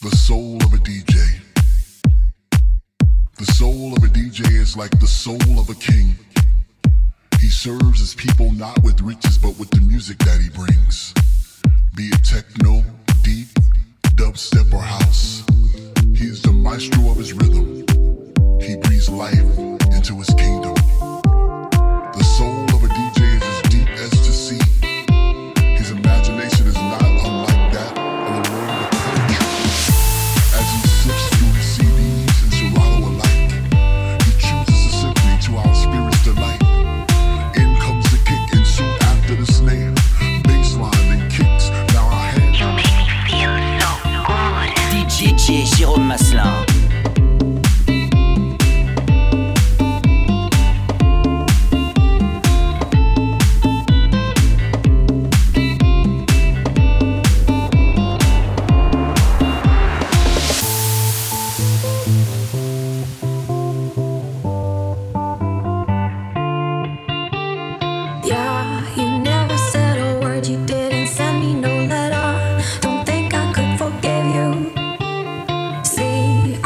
The soul of a DJ. The soul of a DJ is like the soul of a king. He serves his people not with riches but with the music that he brings. Be it techno, deep, dubstep or house. He is the maestro of his rhythm. He breathes life into his kingdom. The soul of a DJ is as deep as the sea. His imagination is not unlike that of the world of poetry. As he sifts through his CDs and Serato alike, he chooses a symphony to our spirit's delight. In comes the kick and soon after the snare, bassline and kicks. Now our hands. You make me feel so good. DJ Jérôme Maslin. See,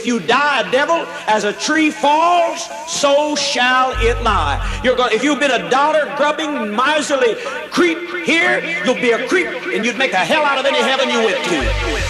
if you die a devil, as a tree falls, so shall it lie. If you've been a dollar-grubbing, miserly creep here, you'll be a creep, and you'd make a hell out of any heaven you went to.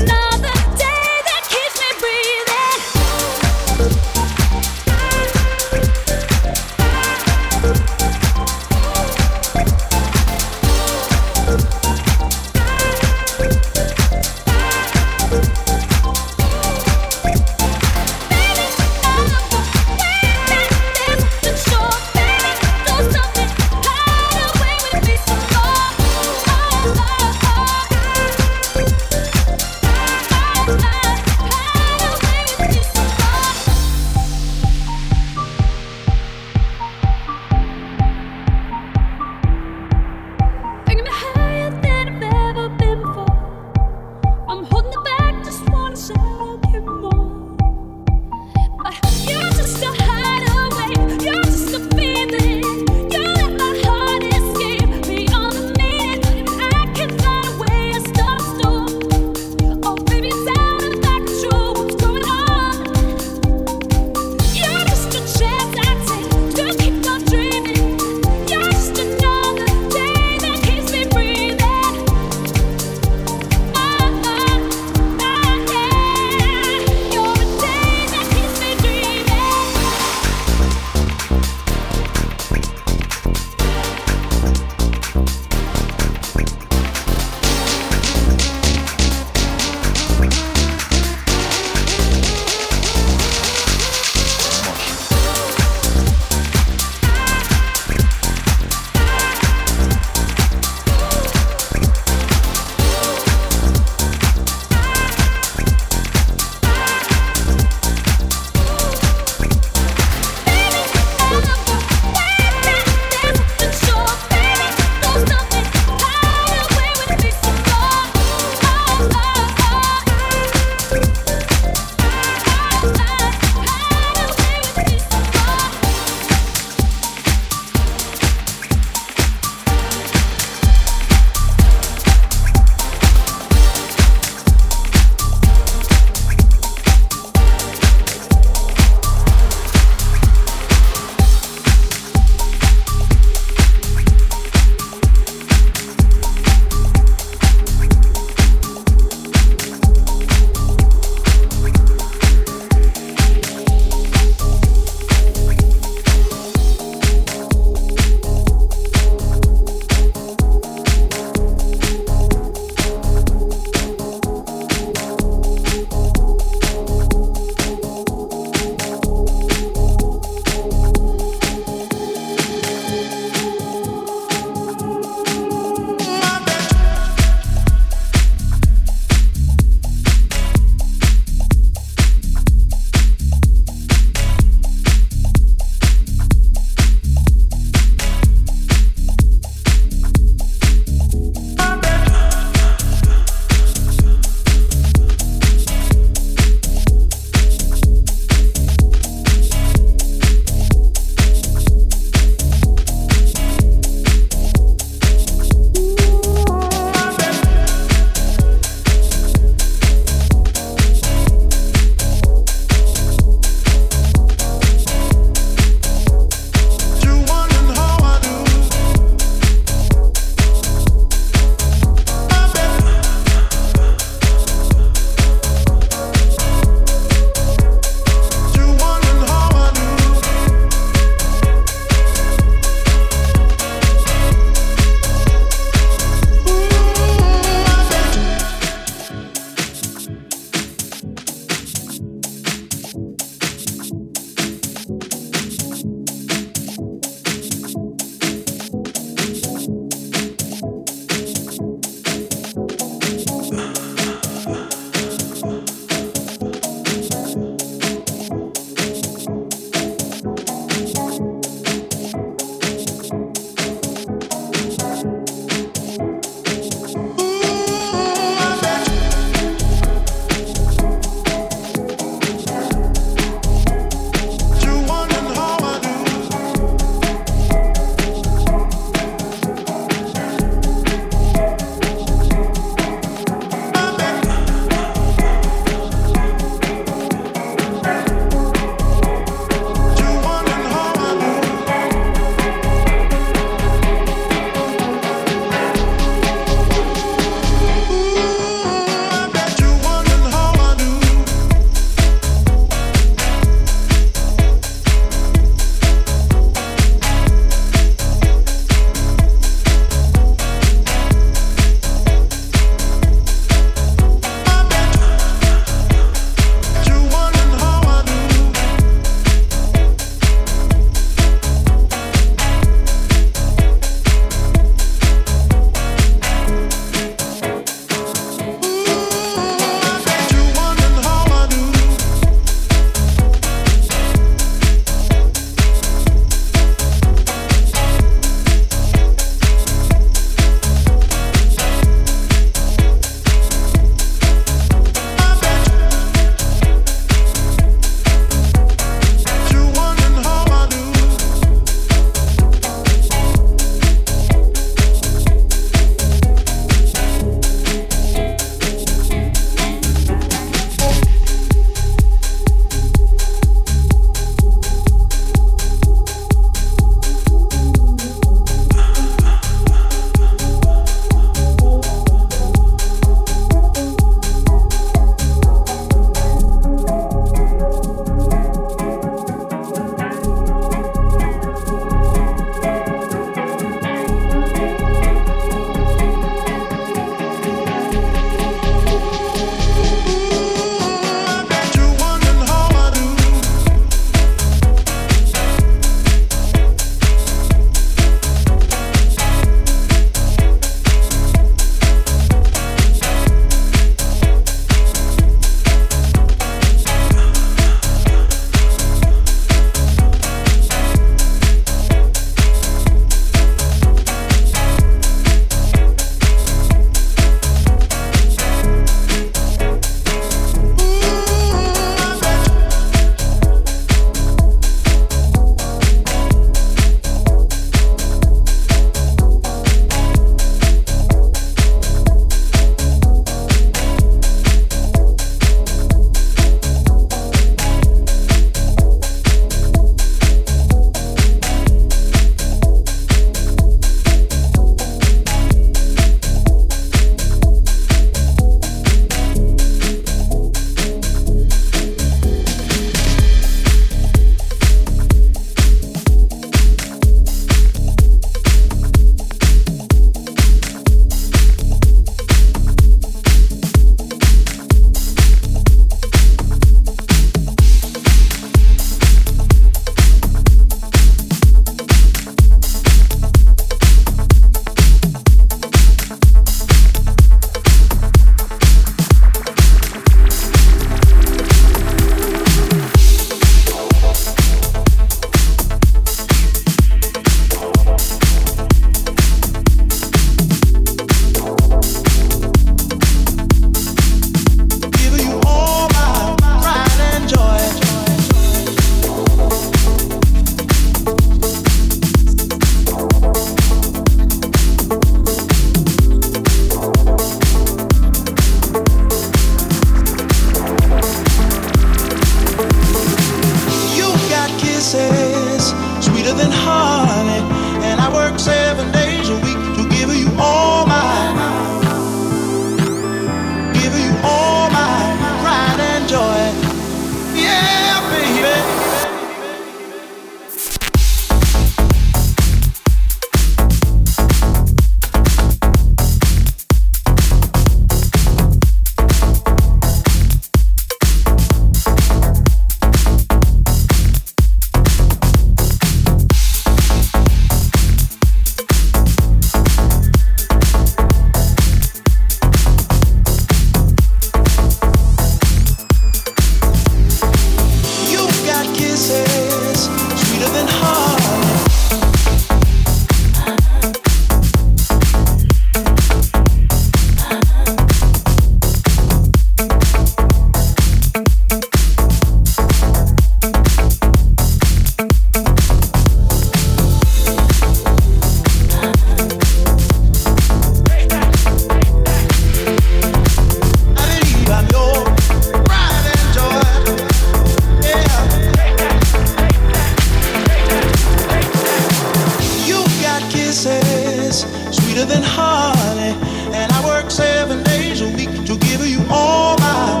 sweeter than honey, and I work 7 days a week to give you all my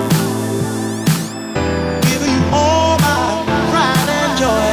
pride and joy.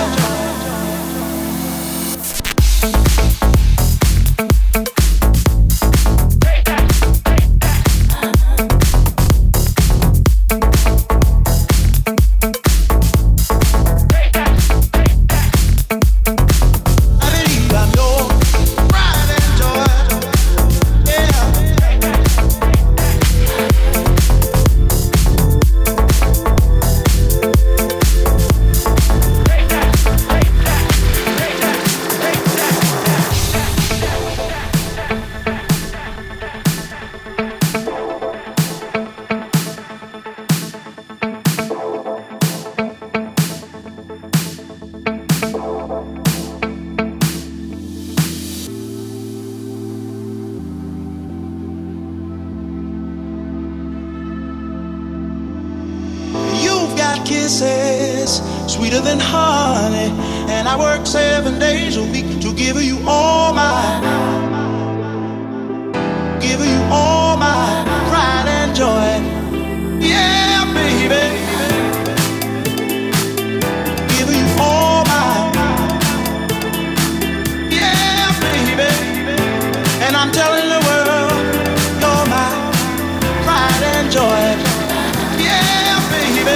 Kisses sweeter than honey, and I work 7 days a week to give you all my pride and joy. Yeah, baby, give you all yeah, baby, and I'm telling the world you're my pride and joy. Yeah, baby.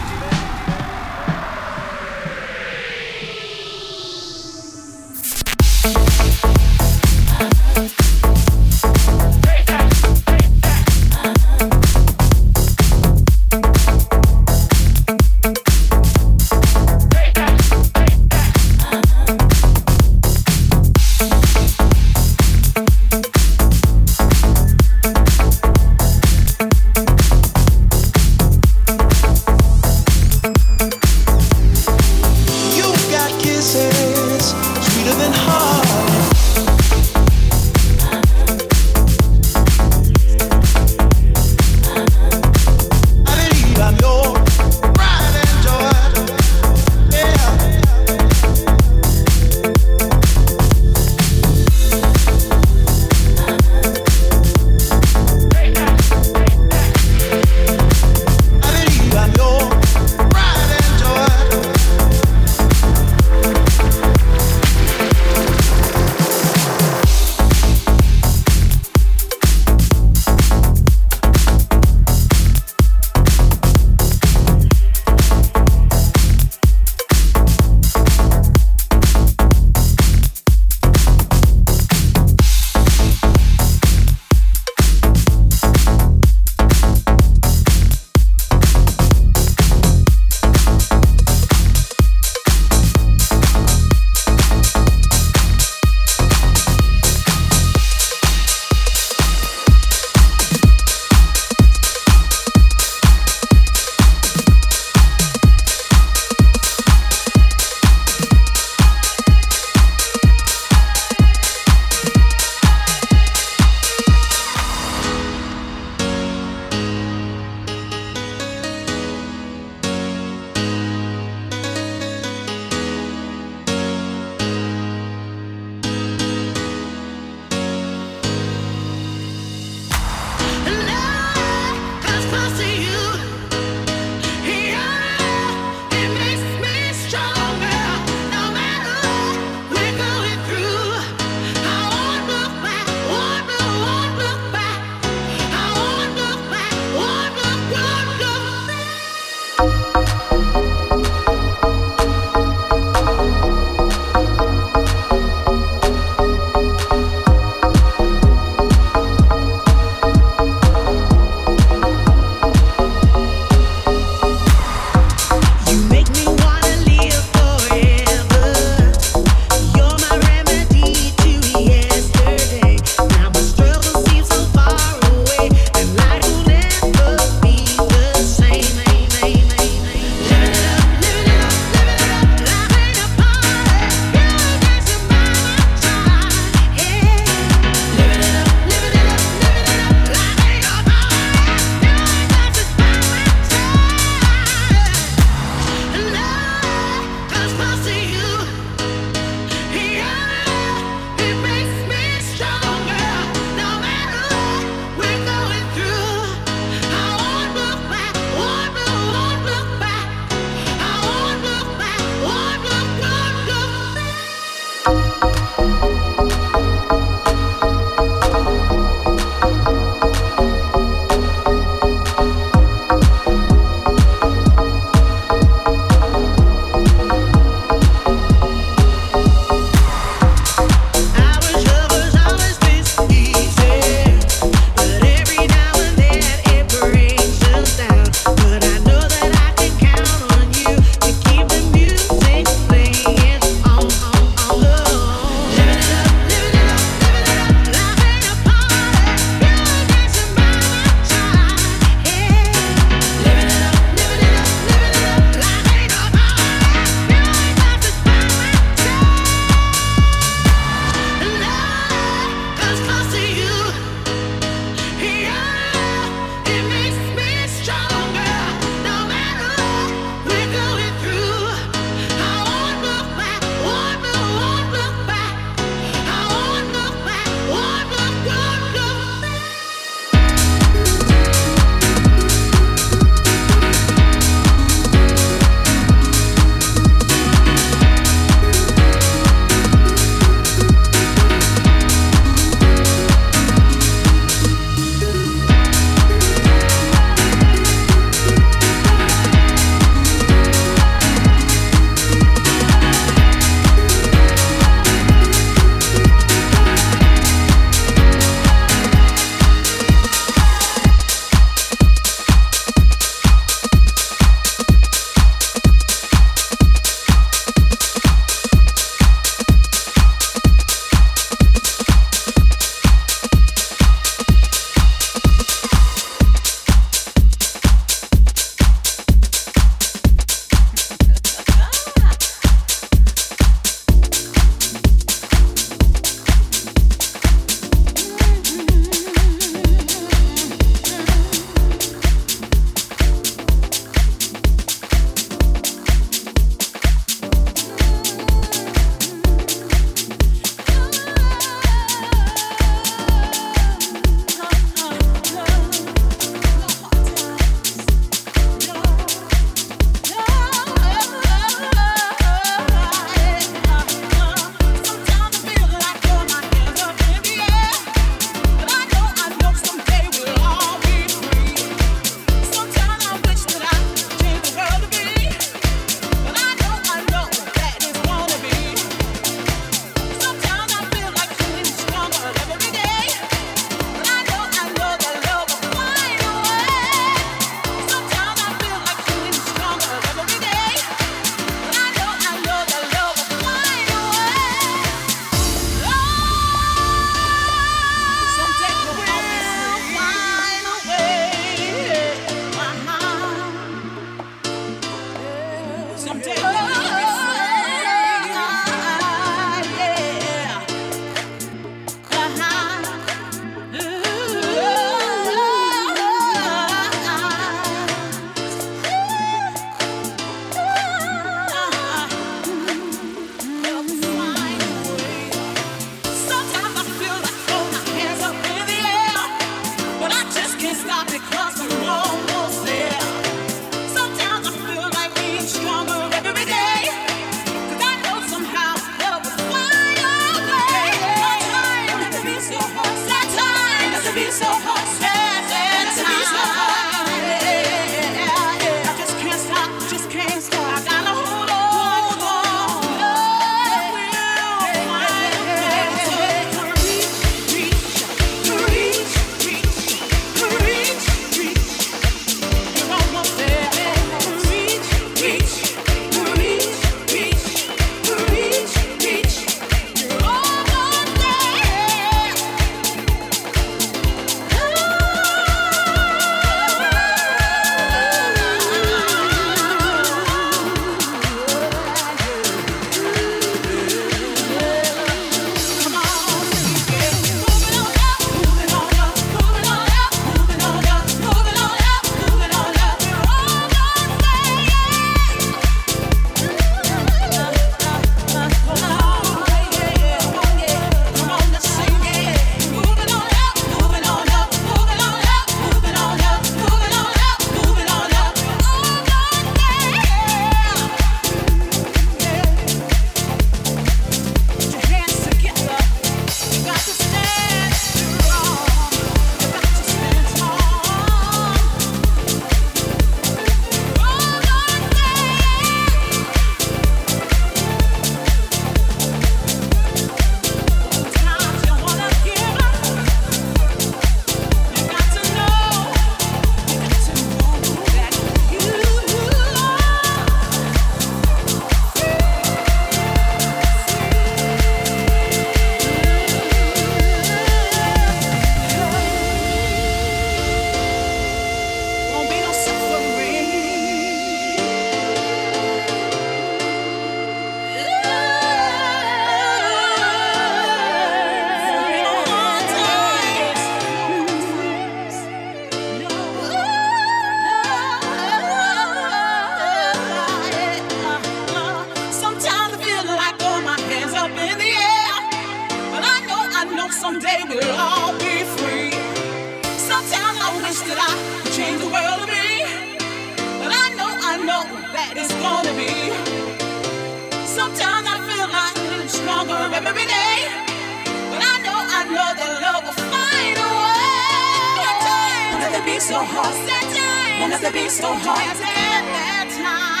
we'll all be free. Sometimes I wish that I could change the world to be, but I know that it's gonna be. Sometimes I feel like I'm stronger every day, but I know that love will find a way. Won't have to be so hard. Won't have to be so hard. That time.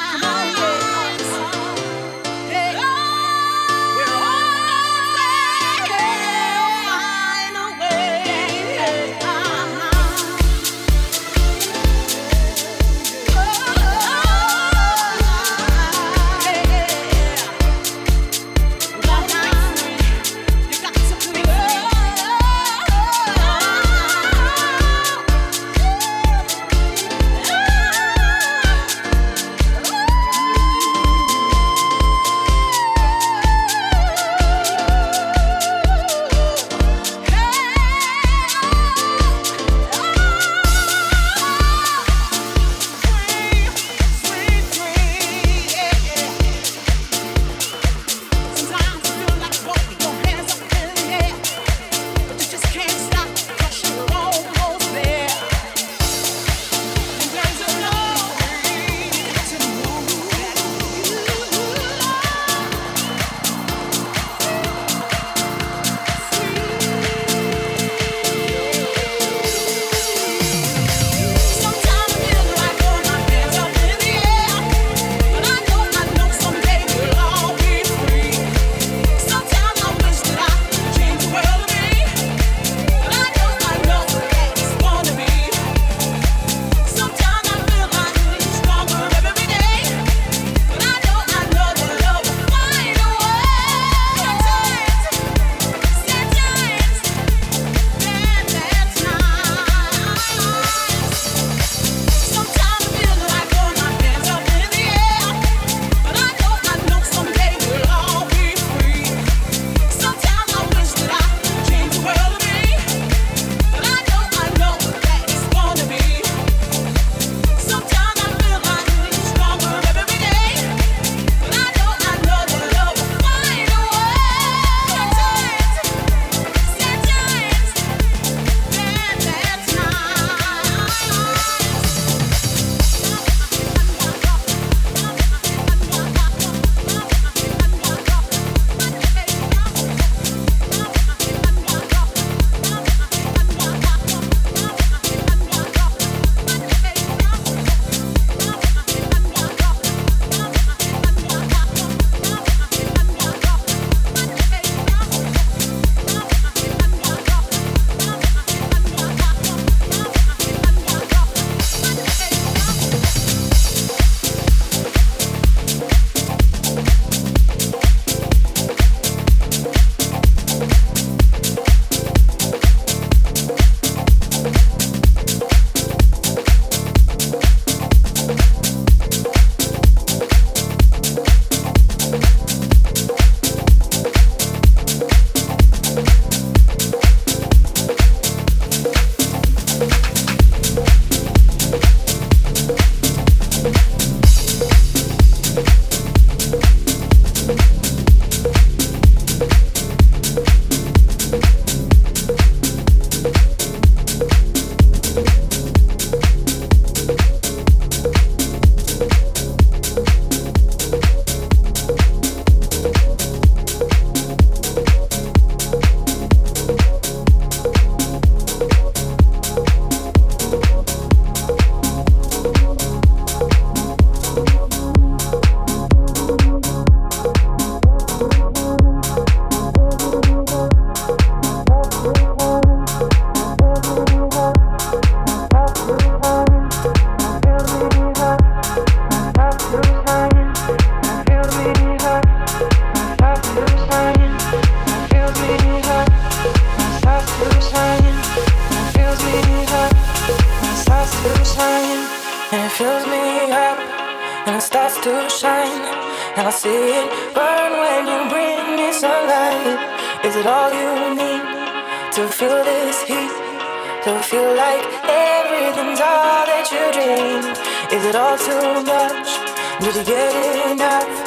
to shine, and I see it burn when you bring me sunlight. Is it all you need to feel this heat? To feel like everything's all that you dream? Is it all too much? Did you get enough?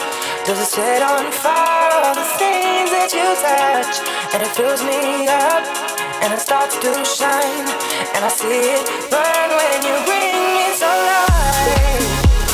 Does it set on fire all the things that you touch? And it fills me up, and it starts to shine, and I see it burn when you bring me sunlight.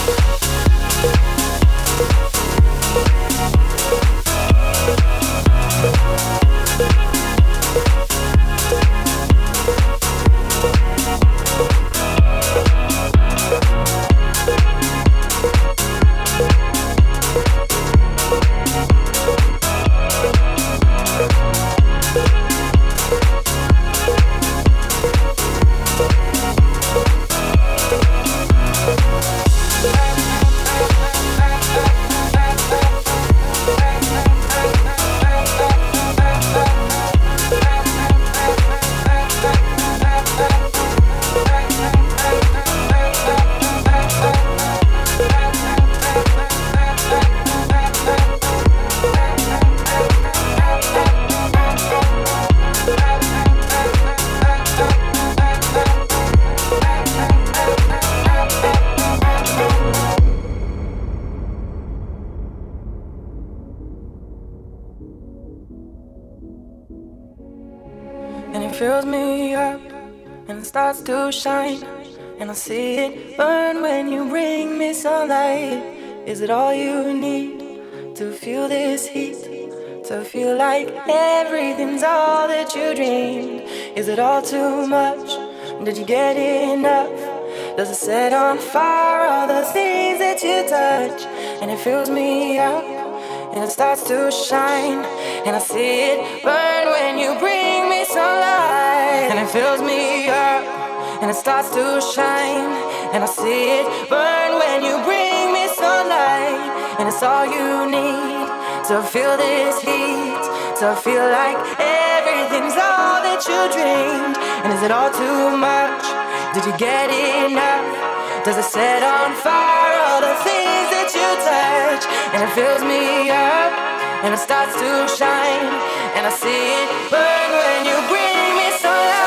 Fills me up and it starts to shine, and I see it burn when you bring me sunlight. Is it all you need to feel this heat? To feel like everything's all that you dreamed? Is it all too much? Did you get enough? Does it set on fire all the things that you touch? And it fills me up and it starts to shine, and I see it burn when you bring me sunlight. And it fills me up and it starts to shine, and I see it burn when you bring me sunlight. And it's all you need to feel this heat, to feel like everything's all that you dreamed. And is it all too much? Did you get enough? Does it set on fire all the things that you touch? And it fills me up and it starts to shine, and I see it burn when you bring me sunlight.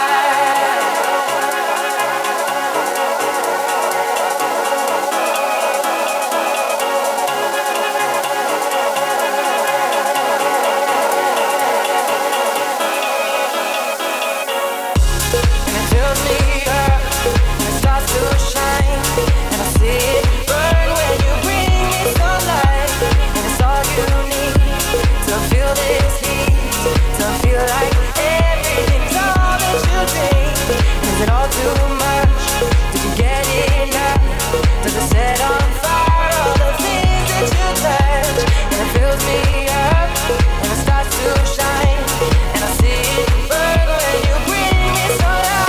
And it fills me up and it starts to shine, and I see it burn when you bring me sunlight. And it's all you need to feel this heat, to feel like everything's all that you dream. And is it all too much? Did you get enough? Does it set on fire all the things that you touch? And it fills me up and it starts to shine, and I see it burn when you bring me sunlight.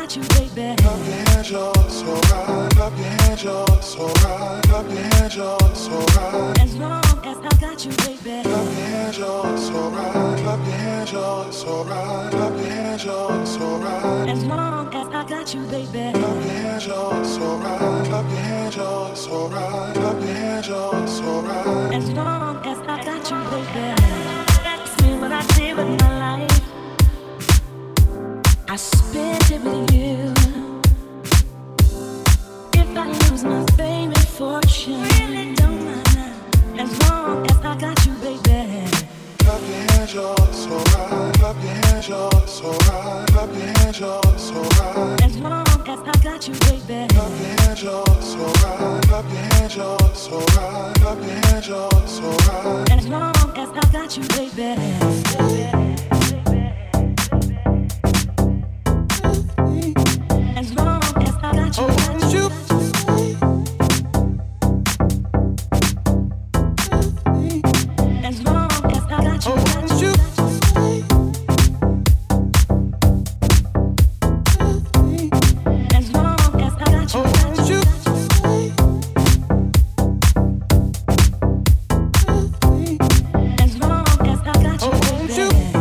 got you, baby. Clap your hands, y'all, it's alright. Clap your hands, y'all, it's alright. Clap your hands, y'all, it's alright. As long as I got you, baby. Clap your hands, y'all, it's alright. Clap your hands, y'all, it's alright. Clap your hands, y'all, it's alright. As long as I got you, baby. Clap your hands, y'all, it's alright. Clap your hands, y'all, it's alright. Clap your hands, y'all, it's alright. As long as I got you, baby. That's me what I did with my life. I spent it with you. If I lose my fame and fortune, really don't matter. As long as I got you, baby. Clap your hands, y'all, it's alright. Clap your hands, y'all, it's alright. Clap your hands, y'all, it's alright. As long as I got you, baby. Clap your hands, y'all, it's alright. Clap your hands, y'all, it's alright. Clap your hands, y'all, it's alright. As long as I got you, baby. As long as I got you, got you. As long as I got you, got you. As long as I got you, got you. As long as I got you, baby.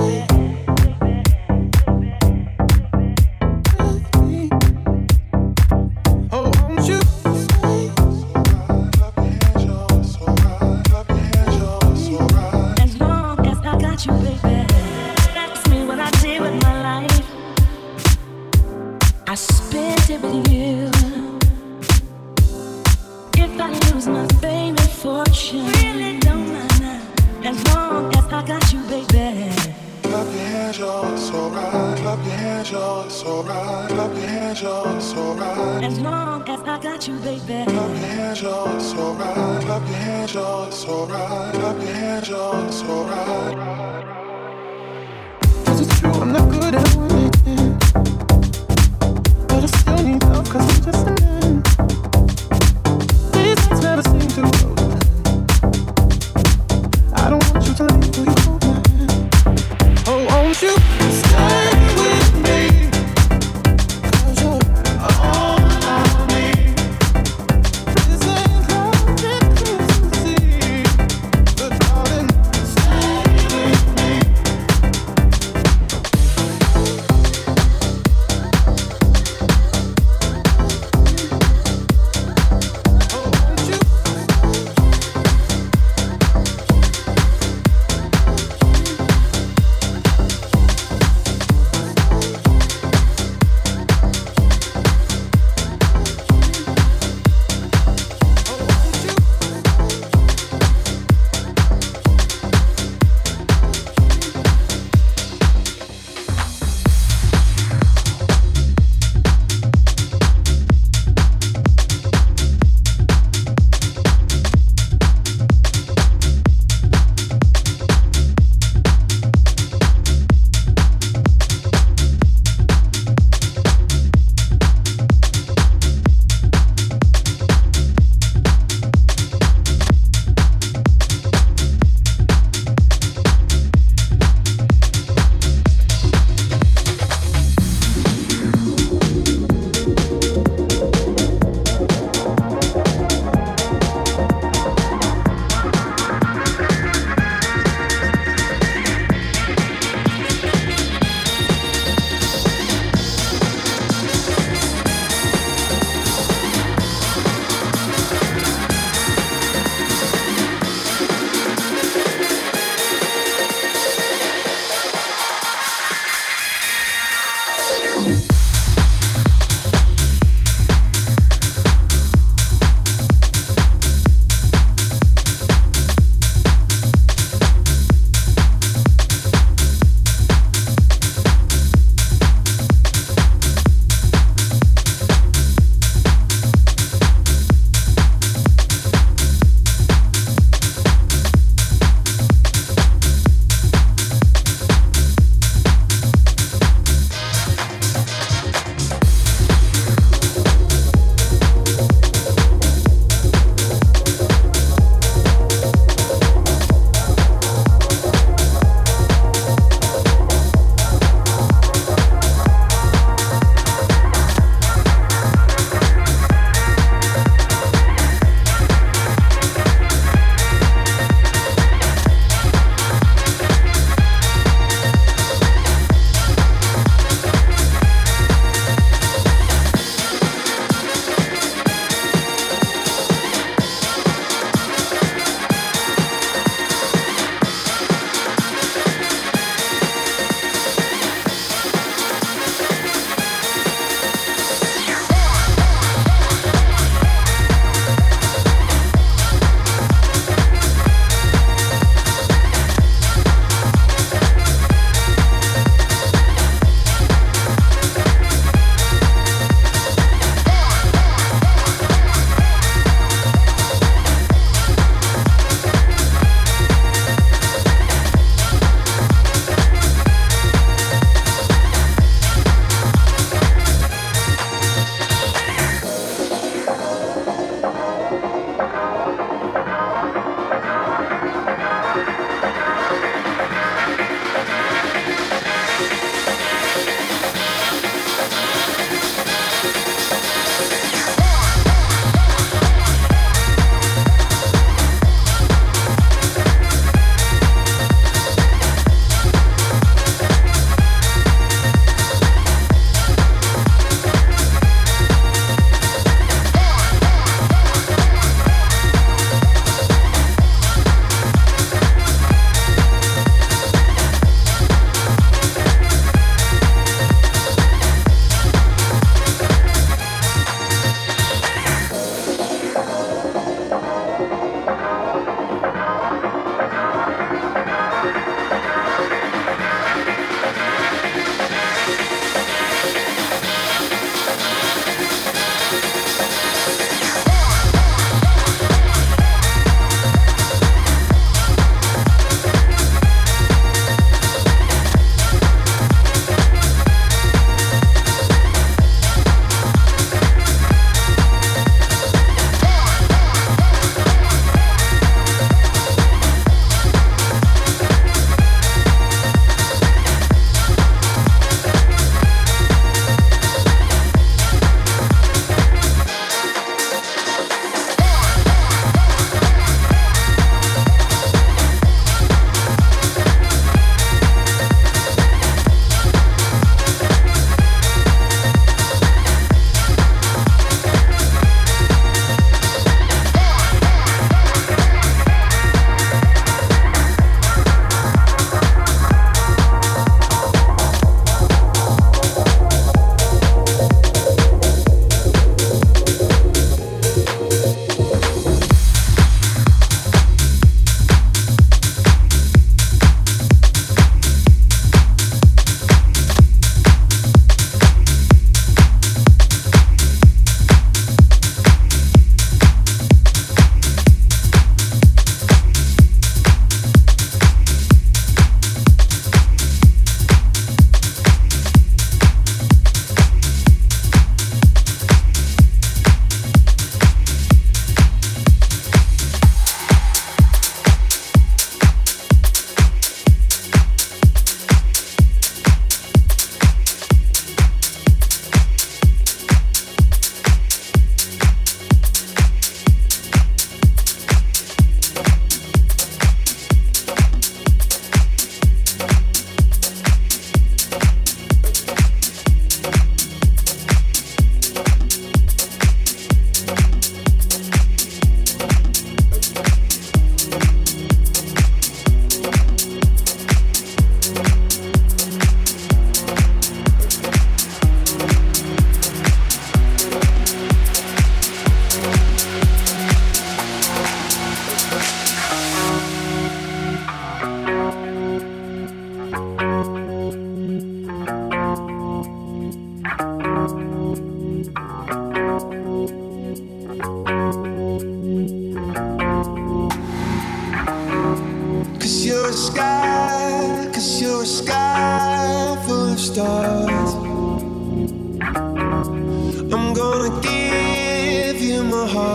As long as I got you, baby. That's me what I did with my life. I spent it with you. If I lose my fame and fortune, really don't matter. As long as I got you, baby. Clap your hands, y'all, it's alright. Clap your hands, y'all, it's alright. Clap your hands, y'all, it's alright. As long as I got you, baby. Clap your hands, y'all, it's alright. Clap your hands, y'all, it's alright. Clap your hands, y'all, it's alright. 'Cause it's true, I'm not good at winning, but I still need love 'cause I'm just a man. These things never seem to go. I don't want you to leave, will you hold my hand? Oh, won't you stay with me? 'Cause you're all I need. This ain't love, it's easy, but darling, stay with me.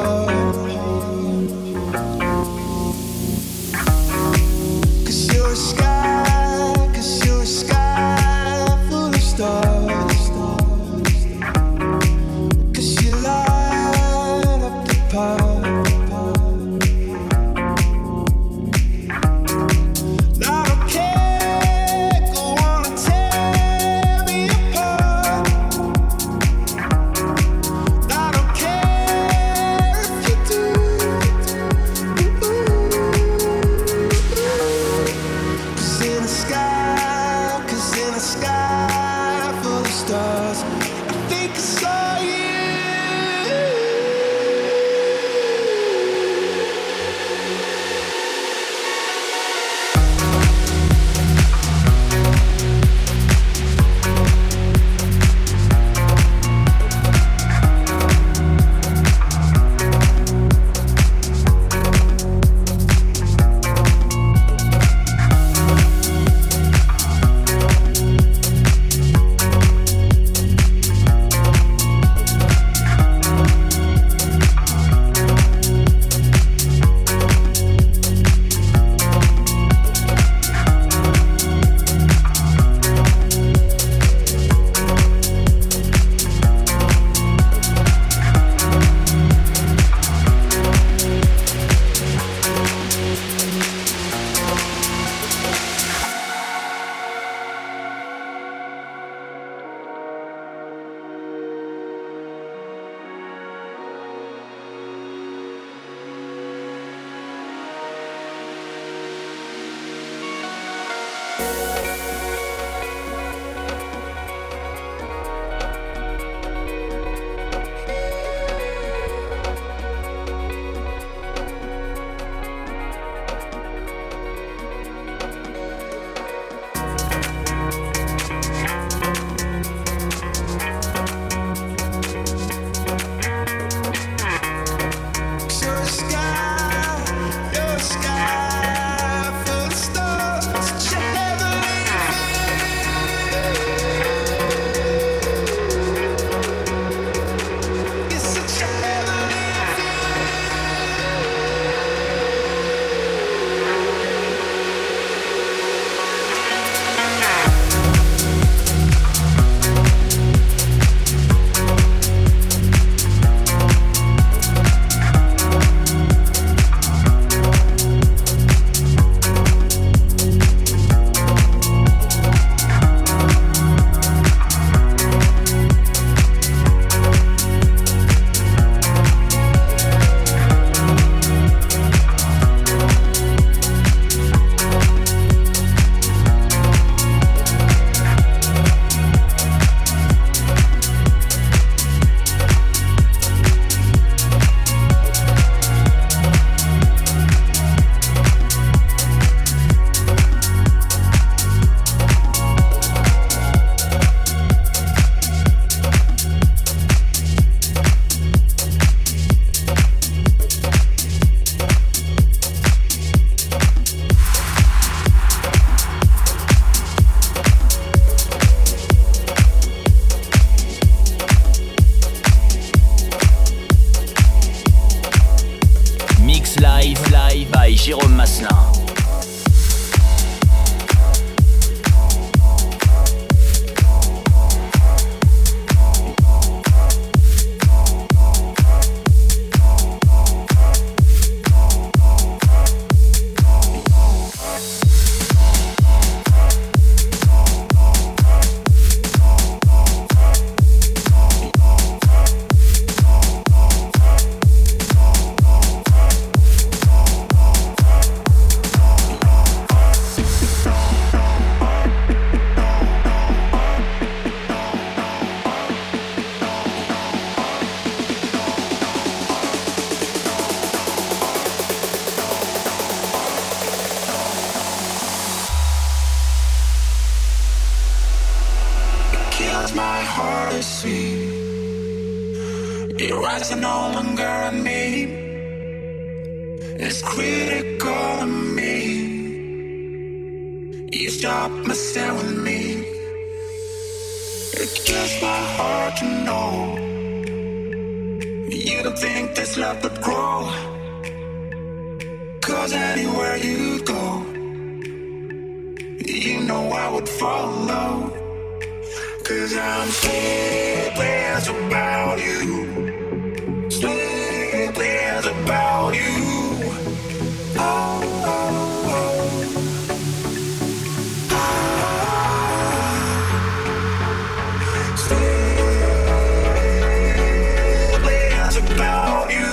Jérôme Maslin. You don't think this love would grow, 'cause anywhere you go, you know I would follow. 'Cause I'm sleepless about you, sleepless about you. Oh, oh, oh. About you.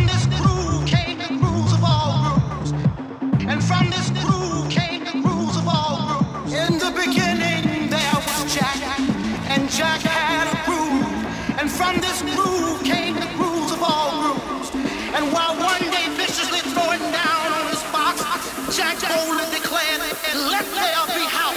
this groove came the grooves of all grooves. And from this groove came the grooves of all grooves. In the beginning there was Jack, and Jack had a groove. And from this groove came the grooves of all grooves. And while one day viciously throwing down on his box, Jack boldly declared, "Let there be house."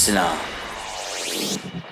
Masselin.